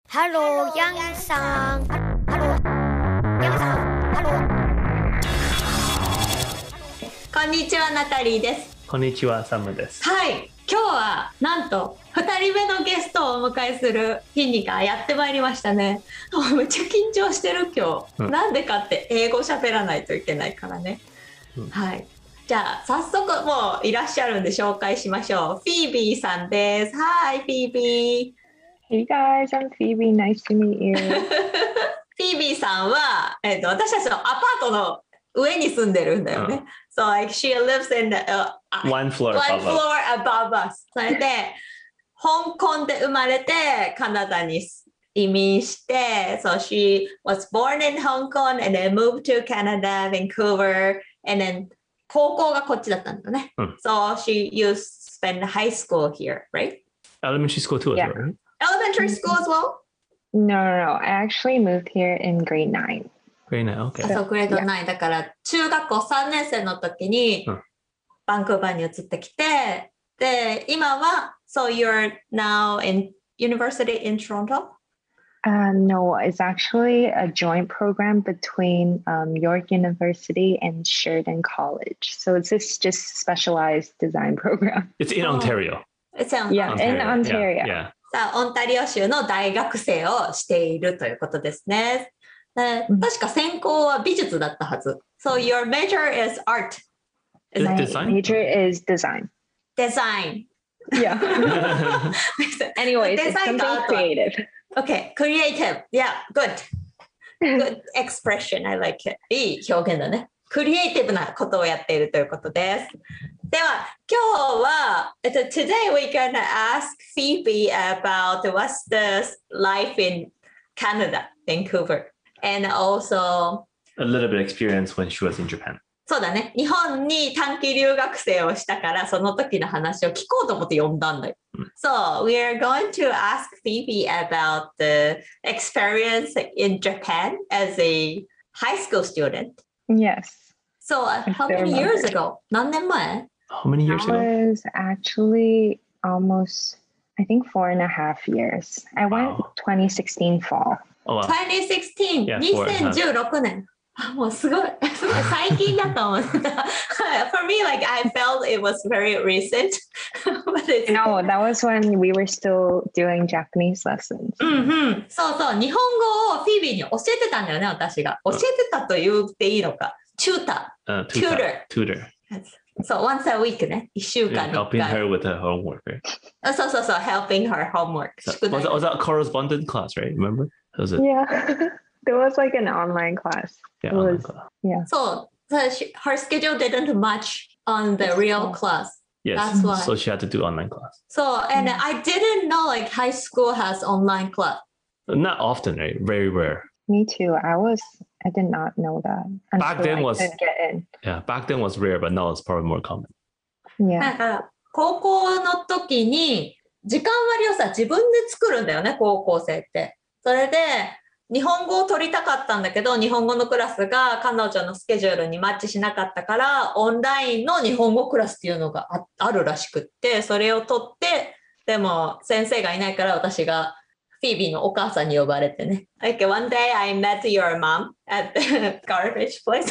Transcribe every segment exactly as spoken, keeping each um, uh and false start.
Hello, Yangさん。Hello, Yangさん。Hello。 こんにちは、ナタリーです。 こんにちは、サムです。 はい、今日はなんとふたりめのゲストをお迎えする日がやってまいりましたね。もうめっちゃ緊張してる今日、うん、なんでかって英語喋らないといけないからね、うん、はい。じゃあ早速もういらっしゃるんで紹介しましょう。フィービーさんです。Hi, フィービー。 Hey guys, I'm Phoebe. Nice to meet you. フィービーさんは、えーと、私たちのアパートの上に住んでるんだよね。So like she lives in the, uh, one floor one above floor above us. それで香港で生まれてカナダに移民して、So she was born in Hong Kong and then moved to Canada, Vancouver, and then 高校がこっちだったんだね。うん、So she used to spend high school here, right? Elementary school too, yeah. as well, right? Elementary school as well? No, no, no. I actually moved here in grade nine. Grade nine, okay. そう、グレードナインだから中学校さんねん生の時にバンクーバーに移ってきて、で、今は So you're now in university in Toronto? Uh, no, it's actually a joint program between um, York University and Sheridan College. So it's this just specialized design program. It's in Ontario. It's in Yeah, Ontario. in Ontario. Yeah, yeah. さあ、オンタリオ州の大学生をしているということですね。で、確か専攻は美術だったはず。So your major is art. Is My design? major is design. Design. Yeah. Anyways, it's something creative. Okay, creative. Yeah, good. Good expression. I like it. いい表現だね。クリエイティブなことをやっているということです。では、今日は、えっと、today we're gonna ask Phoebe about what's the life in Canada, Vancouver, and also a little bit of experience when she was in Japan. そうだね。日本に短期留学生をしたから、その時の話を聞こうと思って呼んだんだよ。うん、So, we're going to ask Phoebe about the experience in Japan as a high school student. Yes. So, uh, how many years ago? 何年前? How many years that ago? was actually almost, I think, four and a half years. I went Wow. twenty sixteen fall. Oh, wow. twenty sixteen. Yeah, に four and a せん half. じゅうろくねん。あ、もうすごい。すごい最近だと思った。For me, like, I felt it was very recent. But it's... No, that was when we were still doing Japanese lessons. うんうん。そうそう。日本語をフィービーに教えてたんだよね、私が。教えてたと言っていいのか。チューター。 Uh, tutor. Tutor. Tutor. So once a week ね。一週間 Yeah, に helping her with her homework, right? あ、そうそうそう。helping her homework. So, was, that, was that a correspondence class, right? Remember? Was it? Yeah. There was like an online class. Yeah, It online was, class. yeah. So, so she, her schedule didn't match on the real class. Yes. That's why. So she had to do online class. So, and I didn't know like high school has online class. Not often, right? Very rare. Me too. I was, I did not know that. Back until then I was- could get in. Yeah, back then was rare, but now it's probably more common. な Yeah. んか高校の時に時間割をさ自分で作るんだよね、高校生って。それで日本語を取りたかったんだけど、日本語のクラスが彼女のスケジュールにマッチしなかったから、オンラインの日本語クラスっていうのが あ, あるらしくって、それを取って、でも先生がいないから私がフィービーのお母さんに呼ばれてね。Like one day I met your mom at the garbage place.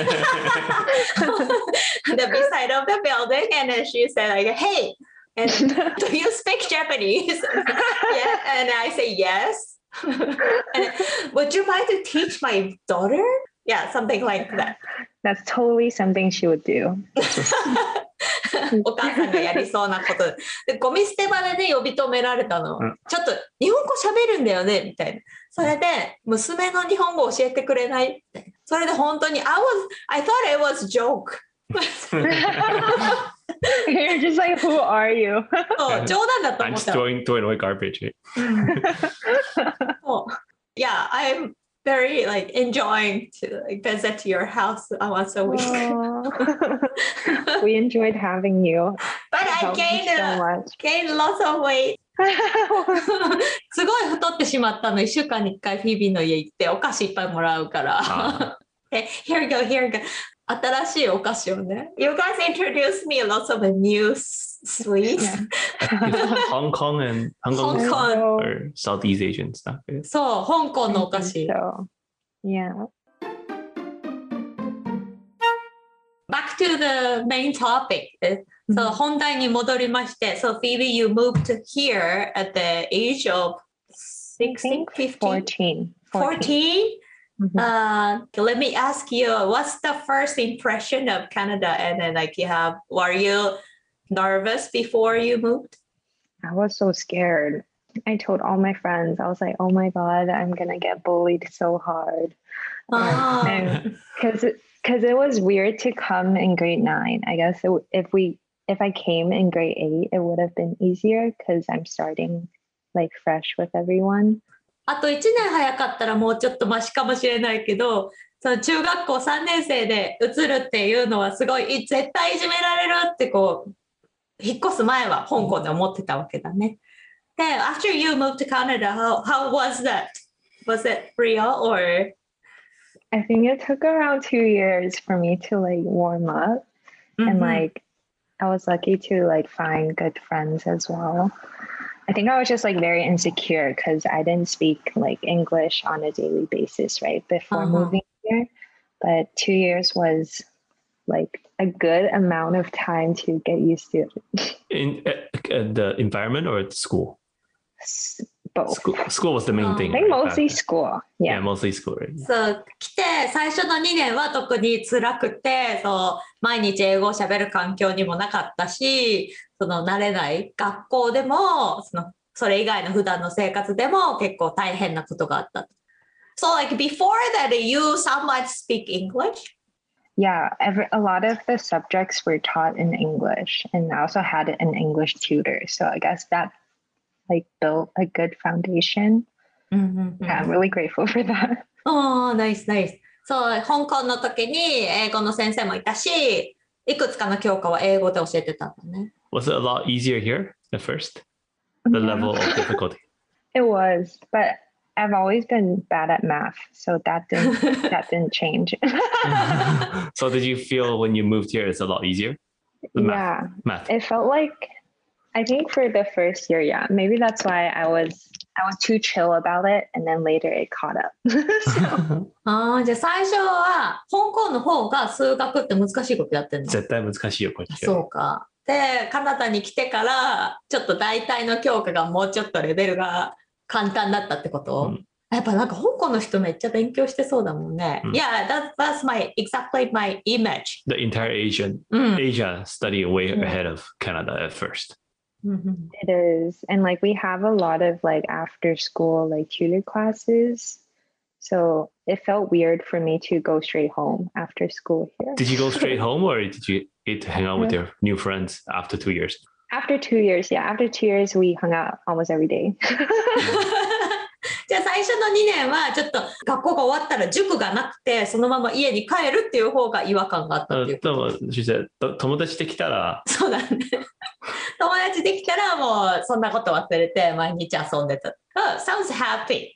The beside of the building, and then she said like, "Hey, and do you speak Japanese?" Yeah, and I say yes. And would you mind to teach my daughter? Yeah, something like that. That's totally something she would do. お母さんがやりそうなことで、ゴミ捨て場でね呼び止められたの、うん、ちょっと日本語喋るんだよねみたいな。それで娘の日本語教えてくれないみたいな。それで本当に I was I thought it was joke. You're just like, who are you? そう冗談だと I'm 思っ just た。 throwing, throwing away garbage. Right? そう Yeah, I'm very like enjoying to like, visit your house once a week. We enjoyed having you. But It I helped me gained, so uh, much. gained lots of weight. すごい太ってしまったの。いっしゅうかんにいっかいフィービーの家行ってお菓子いっぱいもらうから。え、here we go, here we go. 新しいお菓子をね。You guys introduced me lots of new Sweet. Hong Kong and Hong Kong Hong Kong. or Southeast Asian stuff. Yeah. そう、香港のお菓子。 So, yeah. Back to the main topic. So 本題に戻りまして、So Phoebe, you moved here at the age of I sixteen, think fifteen, fourteen. fourteen? Mhm. Uh, let me ask you, what's the first impression of Canada? And then like you have, were you nervous before you moved? I was so scared. I told all my friends, I was like, oh my God, I'm going to get bullied so hard. Ah. Because because it was weird to come in grade nine. I guess it, if we if I came in grade eight, it would have been easier because I'm starting like fresh with everyone. あといちねん早かったらもうちょっとマシかもしれないけど、その中学校さんねん生で移るっていうのはすごい絶対いじめられるってこう引っ越す前は香港で思ってたわけだね。で、after you moved to Canada, how, how was that? Was it real or? I think it took around two years for me to like warm up. And like I was lucky to like find good friends as well. I think I was just like very insecure because I didn't speak like English on a daily basis, right? Before Uh-huh. moving here. But two years was like a good amount of time to get used to it. In uh, uh, the environment or at school? S- Both. School, school was the main Oh. thing. I think right, back mostly then. school. Yeah, Yeah. mostly school, right? そう来て最初のにねんは特に辛くてそう毎日英語をしゃべる環境にもなかったしその慣れない学校でもそのそれ以外の普段の生活でも結構大変なことがあった。So like before that you somewhat speak English? Yeah, every, a lot of the subjects were taught in English, and I also had an English tutor. So I guess that like built a good foundation. うんうんうん Yeah, I'm really grateful for that. おー、ナイスナイス。そう、香港の時に英語の先生もいたし、いくつかの教科は英語で教えてたんだね。 Was it a lot easier here at first? The Yeah, level of difficulty. it was, but I've always been bad at math, so that didn't that didn't change. So did you feel when you moved here it's a lot easier? The math. Yeah, Math. it felt like I think for the first year, yeah, maybe that's why I was I was too chill about it, and then later it caught up. So, ああ、じゃあ最初は香港の方が数学って難しいことやってんの？ 絶対難しいよこっち。 そうか。で、カナダに来てからちょっと大体の教科がもうちょっとレベルが簡単だったってこと？ うんやっぱなんか香港の人めっちゃ勉強してそうだもんね。 うん Yeah, that, that's my exactly my image. The entire Asian うん。 Asia study way Yeah. ahead of Canada at first. うんうん it is, and like we have a lot of like after school like tutor classes, so it felt weird for me to go straight home after school here. Did you go straight home or did you get to hang out with your new friends after two years? After two years, yeah, after two years we hung out almost every day. じゃあ最初のにねんはちょっと学校が終わったら塾がなくてそのまま家に帰るっていう方が違和感があったっていう。 でも、she said, と友達できたら、 そうだね。友達できたらもうそんなこと忘れて毎日遊んでた。Oh, sounds happy.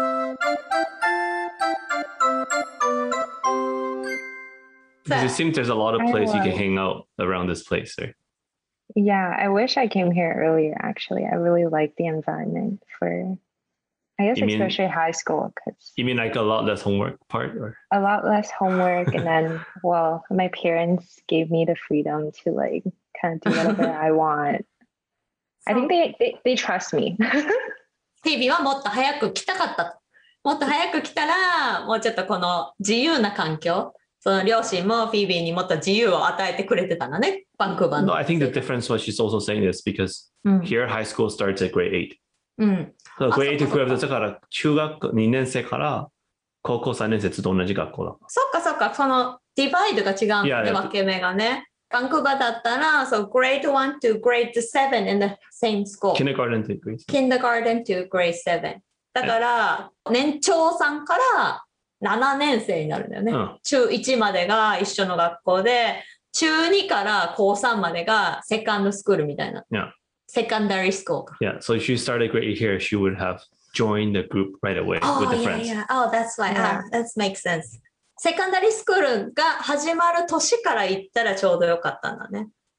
because it seems there's a lot of I places you can was. hang out around this place, right? Yeah, I wish I came here earlier actually. I really like the environment for I guess You mean- especially high school because You mean like a lot less homework part, or a lot less homework and then well, my parents gave me the freedom to like kind of do whatever I want. I think they, they, they trust me. フィービーはもっと早く来たかったと。もっと早く来たらもうちょっとこの自由な環境。その両親もフィービーにもっと自由を与えてくれてたのね。バンクーバーの。 no? I think the difference what she's also saying is because うん here high school starts at grade eight. うん。 So あ、 grade そ eight っかそっか。 と比べてだから中学にねん生から高校さんねん生と同じ学校だ。 そっかそっか、そのディバイドが違うんだね、 いやいや分け目がね。バンクーバーだったら、そう、grade one to grade seven in the same school. Kindergarten to grade. kindergarten to grade seven. だから、年長さんからななねん生になるんだよね。 うん中いちまでが一緒の学校で、中にから高さんまでがセカンドスクールみたいな。 Yeah. セカンダリースクールか。 Yeah. So if she started grade eight here, she would have joined the group right away with Oh, the yeah, friends. yeah. Oh, that's why. Yeah. Ah, that makes sense. セカンダリースクールが始まる年から行ったらちょうどよかったんだね。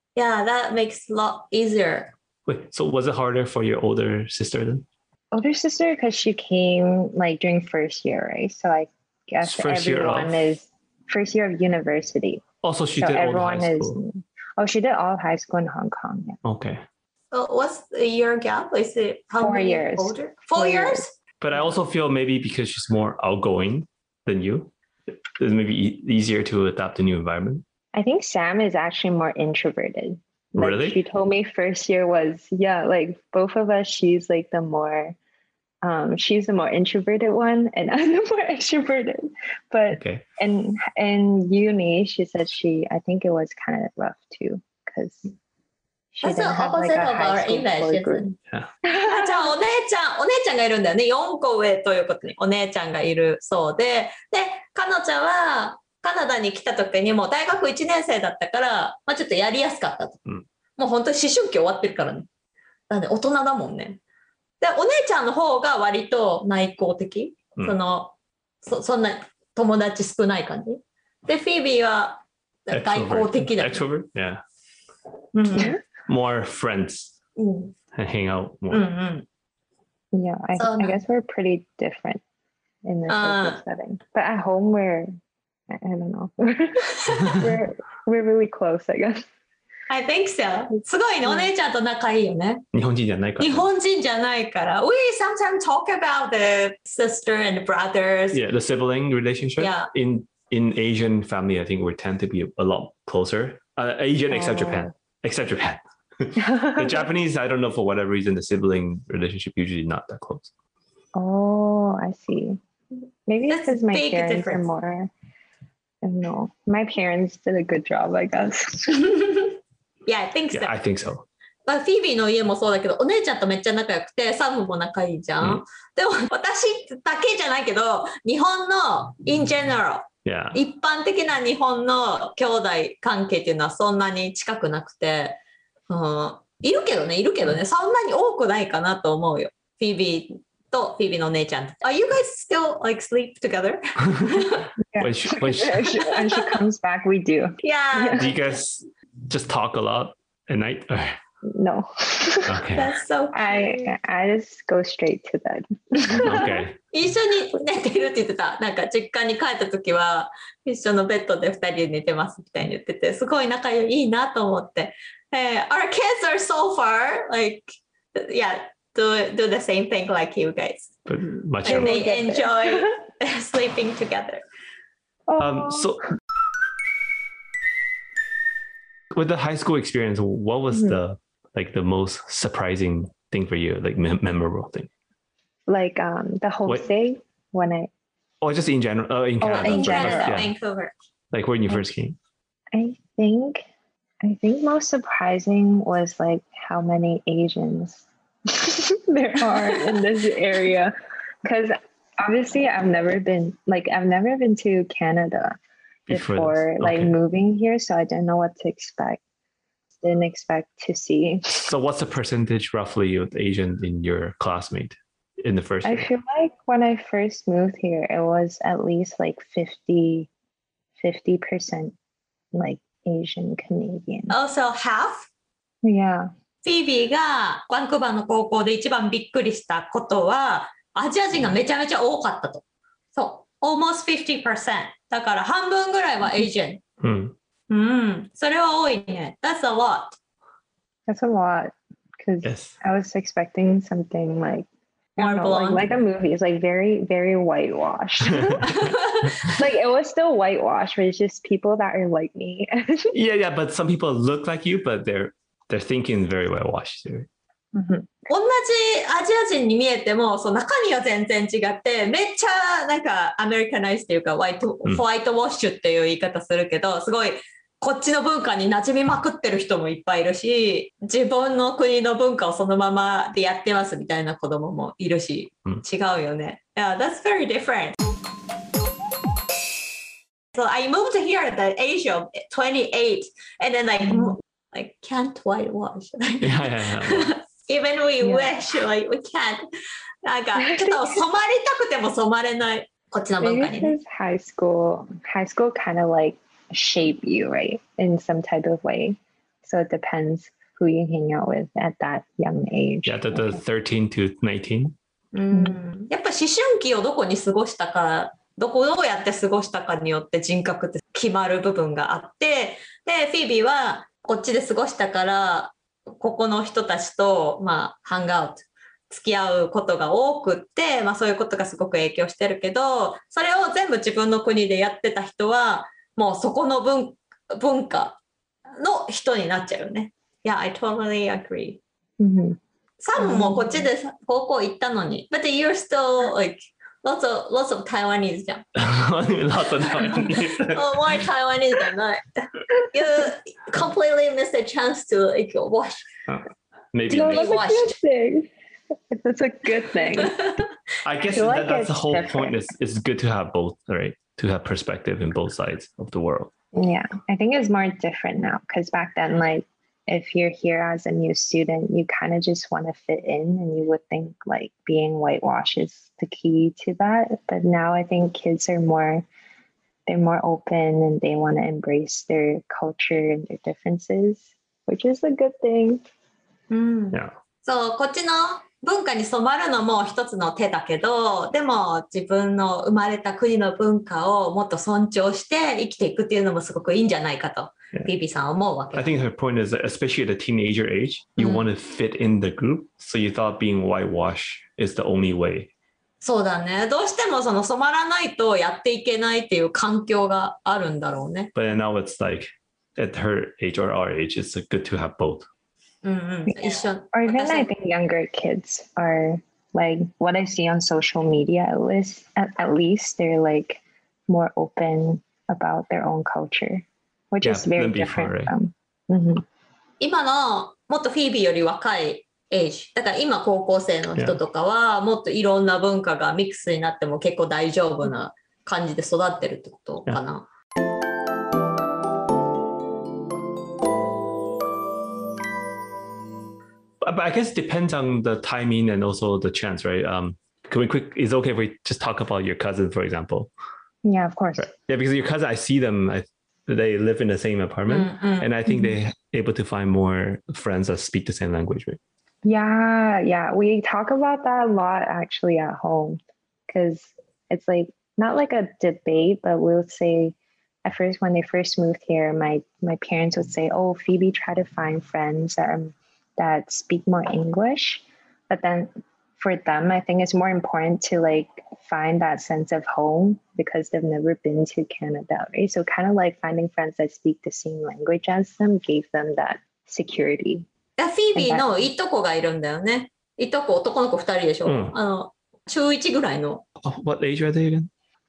Yeah, that makes a lot easier. Wait, so was it harder for your older sister then? Older sister, because she came like during first year, right? So I guess First year everyone of- is first year of university. Also, she so did all the everyone high is. school. Oh, she did all high school in Hong Kong. Yeah. Okay. So what's the year gap? Is it how Four many years. older? Four, Four years? years. But I also feel maybe because she's more outgoing than you, it's maybe e- easier to adapt to new environment. I think Sam is actually more introverted. Like Really? she told me first year was, yeah, like both of us, she's like the more, um, she's the more introverted one and I'm the more extroverted. But Okay. in, in uni, she said she, I think it was kind of rough too because she That's the didn't have like opposite a of high our school image, core isn't group. it? あじゃあお姉ちゃん、お姉ちゃんがいるんだよね。よんこ上ということにお姉ちゃんがいるそうで、で、彼女はカナダに来た時にもう大学いちねん生だったから、まあ、ちょっとやりやすかったと。 うんもう本当に思春期終わってるからね。なんで大人だもんね。で、お姉ちゃんの方が割と内向的。 うんそのそ、そんな友達少ない感じ。で、フィービーは外交的だ。 Extrovert? Yeah. うん More friends うん。 and hang out うんう more. ん。 Yeah, I, So I no. guess we're pretty different in the Uh. social setting. But at home, we're, I, I don't know, we're, we're really close, I guess. I think so. すごいね、お姉ちゃんと仲いいよね。 日本人じゃないから。 日本人じゃないから。We sometimes talk about the sister and brothers. Yeah, the sibling relationship. Yeah. In in Asian family, I think we tend to be a, a lot closer. Uh, Asian except Oh. Japan. Except Japan. The Japanese, I don't know, for whatever reason, the sibling relationship usually not that close. Oh, I see. Maybe it's That's because my big parents difference. are more. I don't know. My parents did a good job, I guess. Yeah, I think so. Yeah, I think so. まあ、フィービーの家もそうだけど、お姉ちゃんとめっちゃ仲良くて、サムも仲いいじゃん。 うんでも、私だけじゃないけど、日本の in general、 Yeah. 一般的な日本の兄弟関係っていうのはそんなに近くなくて、うん、いるけどね、いるけどね、そんなに多くないかなと思うよ。フィービーとフィービーのお姉ちゃん。Are you guys still like sleep together? Yeah. When she, when she, When she, when she comes back, we do. Yeah, do you guys just talk a lot at night? No. Okay. that's so I I just go straight to bed. Okay. 一緒に寝てるって言ってた。なんか実家に帰った時は一緒のベッドでふたりで寝てますみたいに言ってて、すごい仲良いいいなと思って。えー Our kids are so far like yeah do do the same thing like you guys. But much And younger. they get there. enjoy sleeping together. Um, so with the high school experience, what was Mhm. the like the most surprising thing for you, like mem- memorable thing, Like um the whole Wait. day when I or just in general? Uh, in Oh, Canada, in In general. Canada, yeah. Vancouver. Like when you first came. I think I think most surprising was like how many Asians there are in this area. Because obviously I've never been like I've never been to Canada Before before, this. like Okay. moving here, so I didn't know what to expect. Didn't expect to see. So what's the percentage roughly of Asian in your classmate in the first I year? feel like when I first moved here, it was at least like fifty percent like Asian Canadian. Also half. Yeah. フィービーがバンクーバーの高校で一番びっくりしたことは、アジア人がめちゃめちゃ多かったと。そう。almost fifty percent。だから半分ぐらいは Asian。 Hmm. うん。それは多いね。That's a lot. That's a lot. Because Yes. I was expecting something like I More don't know, like, blonde. like a movie. It's like very, very whitewashed. Like it was still whitewashed, but it's just people that are like me. Yeah, yeah, but some people look like you, but they're they're thinking very well washed. Mhm. 同じアジア人に見えても、そう中身は全然違って、めっちゃなんかアメリカナイズっていうか、ホワイト、 うんホワイトウォッシュっていう言い方するけど、すごいこっちの文化に馴染みまくってる人もいっぱいいるし、自分の国の文化をそのままでやってますみたいな子供もいるし、 うん違うよね。Yeah, that's very different. So I moved here at the age of twenty-eight and then like, like can't whitewash. Yeah, yeah, yeah. Even we Yeah. wish, like we can't. なんかちょっと染まりたくても染まれないこっちの文 Maybe 化にね。 because high school, high school kind of like shape you, right, in some type of way. So it depends who you hang out with at that young age. Yeah, the, the thirteen to nineteen. うん、やっぱ思春期をどこに過ごしたか、どこをどうやって過ごしたかによって人格って決まる部分があって、で、フィービーはこっちで過ごしたから、ここの人たちと、まあ、ハングアウト、付き合うことが多くって、まあそういうことがすごく影響してるけど、それを全部自分の国でやってた人は、もうそこの 文, 文化の人になっちゃうよね。Yeah, I totally agree. Mm-hmm. サムもこっちで高校行ったのに。But you're still like lots of, lots of Taiwanese じゃん。 lots of Taiwanese. oh, more Taiwanese than that. You completely missed a chance to like watch. Uh, maybe. No, maybe. that's a good thing. That's a good thing. I guess I that, like that's the whole different. point. Is it's good to have both, right? To have perspective in both sides of the world. Yeah, I think it's more different now because back then, like, if you're here as a new student, you kind of just want to fit in and you would think like being whitewashed is the key to that. But now I think kids are more, they're more open and they want to embrace their culture and their differences, which is a good thing. うん、 Yeah. そう、こっちの文化に染まるのも一つの手だけど、でも自分の生まれた国の文化をもっと尊重して生きていくっていうのもすごくいいんじゃないかと、 Yeah. ビービーさんは思うわけ。 I think her point is that especially at the teenager age, you Mm. want to fit in the group. So you thought being whitewash is the only way. そうだね。どうしてもその染まらないとやっていけないっていう環境があるんだろうね。 But then now it's like at her age or our age, it's good to have both. うんうん、一緒。 Or even 私 I think younger kids are like what I see on social media, at least, at, at least they're like more open about their own culture, which Yeah, is very than before, different right? from. Mhm. 今のもっとフィービーより若いエイジだから今高校生の人とかはもっといろんな文化がミックスになっても結構大丈夫な感じで育ってるってことかな。 But I guess it depends on the timing and also the chance, right? Um, can we quick? Is it okay if we just talk about your cousin, for example? Yeah, of course. Right. Yeah, because your cousin, I see them. I, they live in the same apartment, うんうん and I think they're able to find more friends that speak the same language, right? Yeah, yeah. We talk about that a lot actually at home because it's like not like a debate, but we'll say at first when they first moved here, my my parents would say, "Oh, Phoebe, try to find friends that are, that speak more English." But then for them, I think it's more important to like find that sense of home because they've never been to Canada, right? So kind of like finding friends that speak the same language as them gave them that security. フィービーのいとこがいるんだよね。いとこ男の子ふたりでしょ。 うん、 あの中いちぐらいの。 Oh, what age are they again?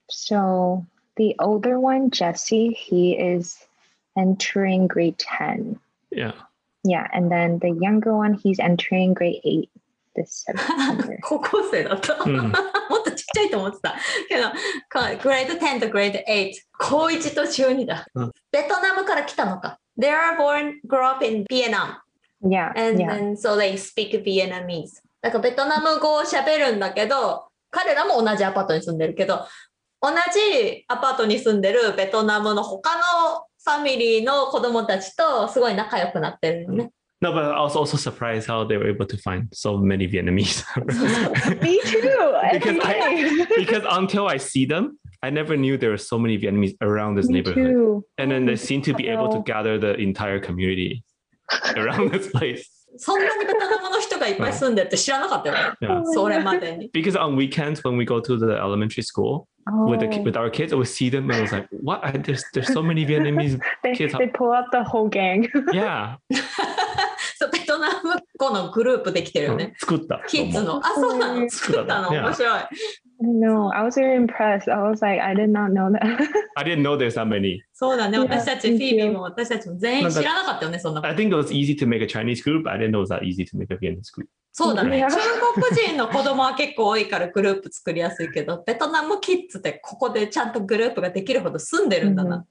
So the older one, Jesse, he is entering grade ten. Yeah. Yeah, and then the younger one, he's entering grade eight this September. 高校生だった。 うんもっとちっちゃいと思ってた。けど、グレードテンとグレードエイト、高いちと中にだ。 うんベトナムから来たのか。They are born, grew up in Vietnam. Yeah, And yeah. then so they speak Vietnamese. だからベトナム語を喋るんだけど、彼らも同じアパートに住んでるけど、同じアパートに住んでるベトナムの他のファミリーの子供たちとすごい仲良くなってるよね。 No, but I was also surprised how they were able to find so many Vietnamese. Me too. Because every I- day. Because until I see them, I never knew there were so many Vietnamese around this Me neighborhood. too. And then they seem to be able to gather the entire community around this place. そんなにベトナムの人がいっぱい住んでるって知らなかったよね。 Yeah. それまでに。 Because on weekends when we go to the elementary school Oh, with the with our kids, I would see them and I was like, "What? I, there's there's so many Vietnamese they, kids." they pull up the whole gang. Yeah. そうベトナム語のグループできてるよね。 作った。 キッズの。あ、そうなの。作ったの。 Yeah. 面白い。 No, I was very impressed. I was like, I did not know that. I didn't know there's that many. そうだね。 Yeah, 私たち、フ me ィービー too. も私たちも全員知らなかったよね、そんなこ I と。 think it was easy to make a Chinese group. I didn't know it was that easy to make a Vietnamese group. そうだね。 Yeah. 中国人の子供は結構多いからグループ作りやすいけど、ベトナムキッズってここでちゃんとグループができるほど住んでるんだな。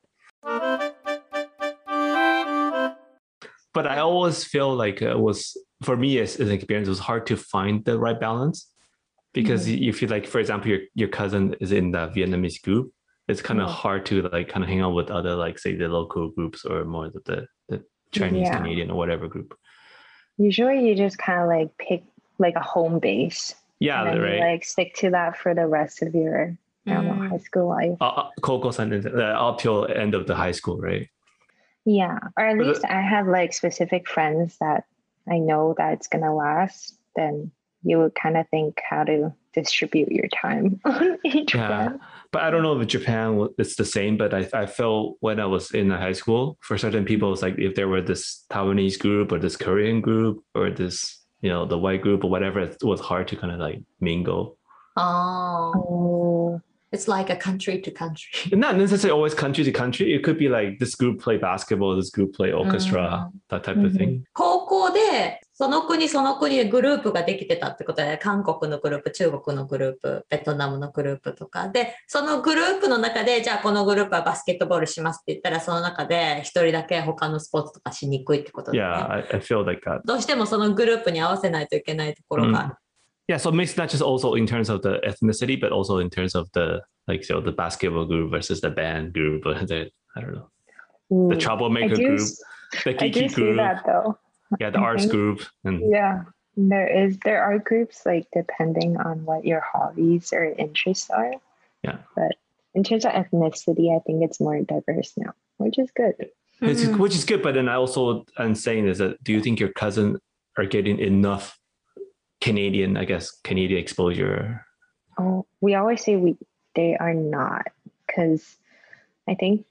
But I always feel like it was, for me as, as an experience, it was hard to find the right balance. Because you feel like, for example, your, your cousin is in the Vietnamese group. It's kind of Yeah. hard to like kind of hang out with other, like say the local groups or more the, the, the Chinese, Yeah. Canadian, or whatever group. Usually you just kind of like pick like a home base. Yeah, and then right. you like stick to that for the rest of your I don't know, Mm. high school life. Uh, Koko-san is uh, up till end of the high school, right? Yeah. Or at But the- least I have like specific friends that I know that it's gonna last. Then you would kind of think how to distribute your time on each Yeah. friend. But I don't know if Japan it's the same. But I I felt when I was in high school, for certain people, it's like if there were this Taiwanese group or this Korean group or this you know the white group or whatever, it was hard to kind of like mingle. Oh, Oh. it's like a country to country. Not necessarily always country to country. It could be like this group play basketball, this group play orchestra, that type of thing. 高校でその国その国でグループができてたってことで、韓国のグループ、中国のグループ、ベトナムのグループとかで、そのグループの中でじゃあこのグループはバスケットボールしますって言ったら、その中で一人だけ他のスポーツとかしにくいってことだ Yeah, ね。 I, I feel like that. どうしてもそのグループに合わせないといけないところがある。 Yeah, so it makes not just also in terms of the ethnicity, but also in terms of the like so the basketball group versus the band group, or the I don't know, Ooh. the I troublemaker do, group, s- the I do geeky see group, that though. yeah, the I arts think- group, and Yeah. There is there are groups like depending on what your hobbies or interests are. Yeah. But in terms of ethnicity, I think it's more diverse now, which is good. It's, うん which is good. But then I also am saying is that do you think your cousin are getting enough Canadian, I guess, Canadian exposure? Oh, we always say we they are not because I think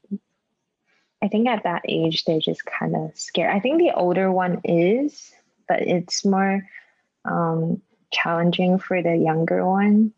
I think at that age they're just kind of scared. I think the older one is, but it's more um, challenging for the younger one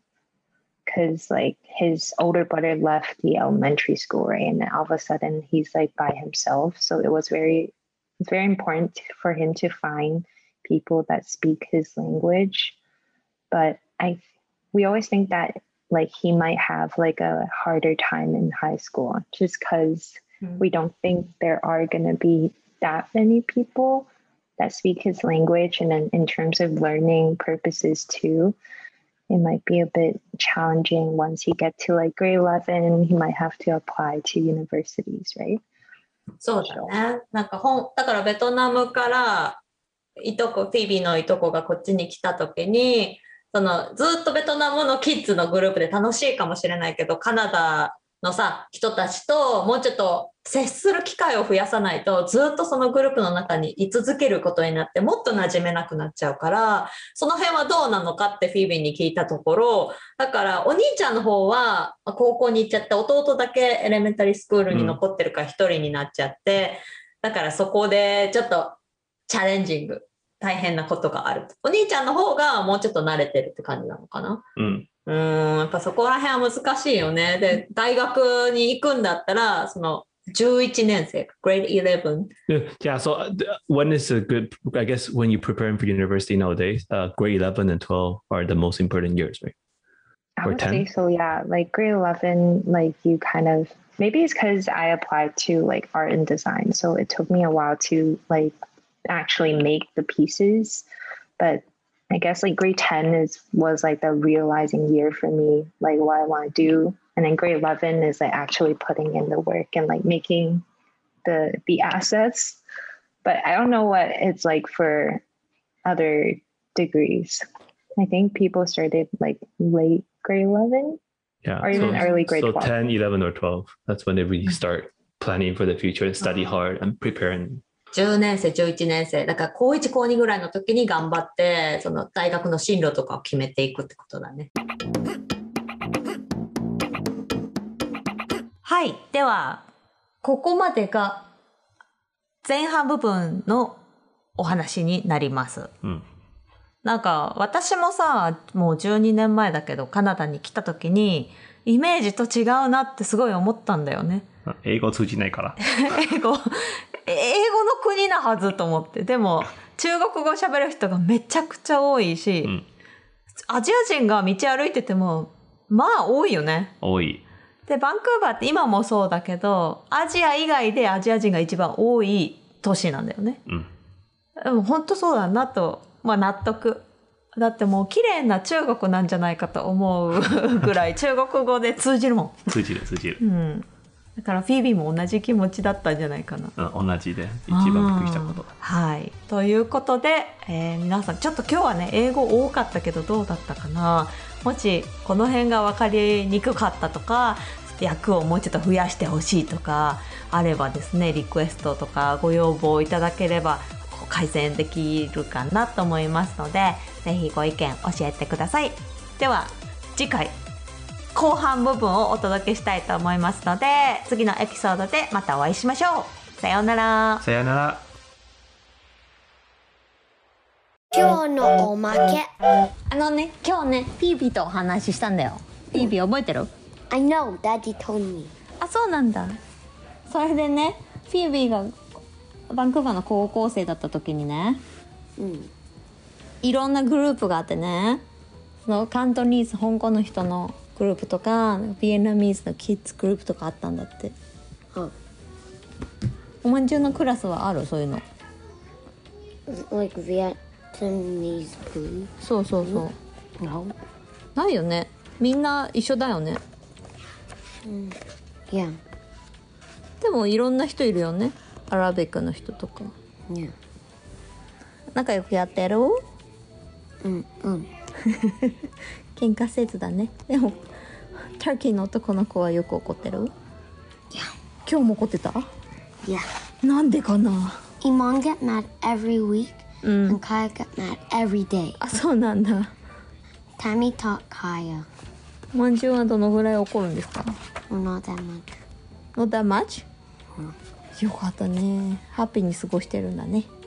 because like his older brother left the elementary school, right, and then all of a sudden he's like by himself. So it was very it's very important for him to find people that speak his language. But I we always think that like he might have like a harder time in high school just because Mm. we don't think there are going to be that many people that speak his language. And then in terms of learning purposes too, it might be a bit challenging once he get to like grade eleven, he might have to apply to universities, right? そうだね。なんかほんだからベトナムからいとこフィービーのいとこがこっちに来た時にそのずっとベトナムのキッズのグループで楽しいかもしれないけどカナダのさ人たちともうちょっと接する機会を増やさないとずっとそのグループの中に居続けることになってもっと馴染めなくなっちゃうからその辺はどうなのかってフィービーに聞いたところだからお兄ちゃんの方は高校に行っちゃって弟だけエレメンタリースクールに残ってるから一人になっちゃって、うん、だからそこでちょっとチャレンジング大変なことがあるお兄ちゃんの方がもうちょっと慣れてるって感じなのかな、 うんうーんやっぱそこら辺は難しいよね。で、大学に行くんだったら、そのじゅういちねん生、grade eleven. Yeah, so uh, when is a good, I guess when you're preparing for university nowadays, uh, grade eleven and twelve are the most important years, right? I Or would ten? say so, yeah. Like grade eleven, like you kind of, maybe it's because I applied to like art and design. So it took me a while to like actually make the pieces. But I guess like grade ten is was like the realizing year for me, like what I want to do. And then grade eleven is like actually putting in the work and like making the the assets. But I don't know what it's like for other degrees. I think people started like late grade eleven. Yeah, Or even so, early grade so twelve. ten, eleven, or twelve. That's when they really start planning for the future and study hard and preparing. じゅうねん生、じゅういちねん生。だから高いち、高にぐらいの時に頑張って、その大学の進路とかを決めていくってことだね。はい。では、ここまでが前半部分のお話になります。 うん、 なんか私もさ、もうじゅうにねんまえだけどカナダに来た時にイメージと違うなってすごい思ったんだよね。 英語通じないから。 英語、英語の国なはずと思って。でも中国語喋る人がめちゃくちゃ多いし、うん、アジア人が道歩いててもまあ多いよね。 多い。 で、バンクーバーって今もそうだけど、アジア以外でアジア人が一番多い都市なんだよね。 うん。 でも本当そうだなと、まあ納得。だってもう綺麗な中国なんじゃないかと思うぐらい中国語で通じるもん。 通じる通じる。 うん。 だからフィービーも同じ気持ちだったんじゃないかな。 うん、同じで一番びっくりしたこと。 はい。ということで、えー皆さんちょっと今日はね英語多かったけどどうだったかな。もしこの辺が分かりにくかったとか、訳をもうちょっと増やしてほしいとかあればですね、リクエストとかご要望いただければこう改善できるかなと思いますので、ぜひご意見教えてください。では次回後半部分をお届けしたいと思いますので、次のエピソードでまたお会いしましょう。さようなら。 さよなら。 今日のおまけ。 あのね、今日ねフィービーとお話ししたんだよ。フィービー覚えてる？ I know, Daddy told me. あ、そうなんだ。それでね、フィービーがバンクーバーの高校生だった時にね、 うん。 いろんなグループがあってね、そのカントニーズ香港の人のグループとかビエナミーズのキッズグループとかあったんだって。 Huh. おまんじゅうのクラスはある？そういうの。 Like Vietnamese food. そうそうそう、 No. ないよね。みんな一緒だよね。 Yeah. でもいろんな人いるよね。アラビックの人とか Yeah. 仲良くやってる？ うんうん。 喧嘩せずだね。でもターキーの男の子はよく怒ってる？ Yeah. 今日も怒ってた？ Yeah. なんでかな。 Iman get mad every week うん and Kaya get mad every day. あ、そうなんだ。 Tammy taught Kaya. まんじゅうはどのぐらい怒るんですか？ Well, not that much. Not that much? よかったね。ハッピーに過ごしてるんだね。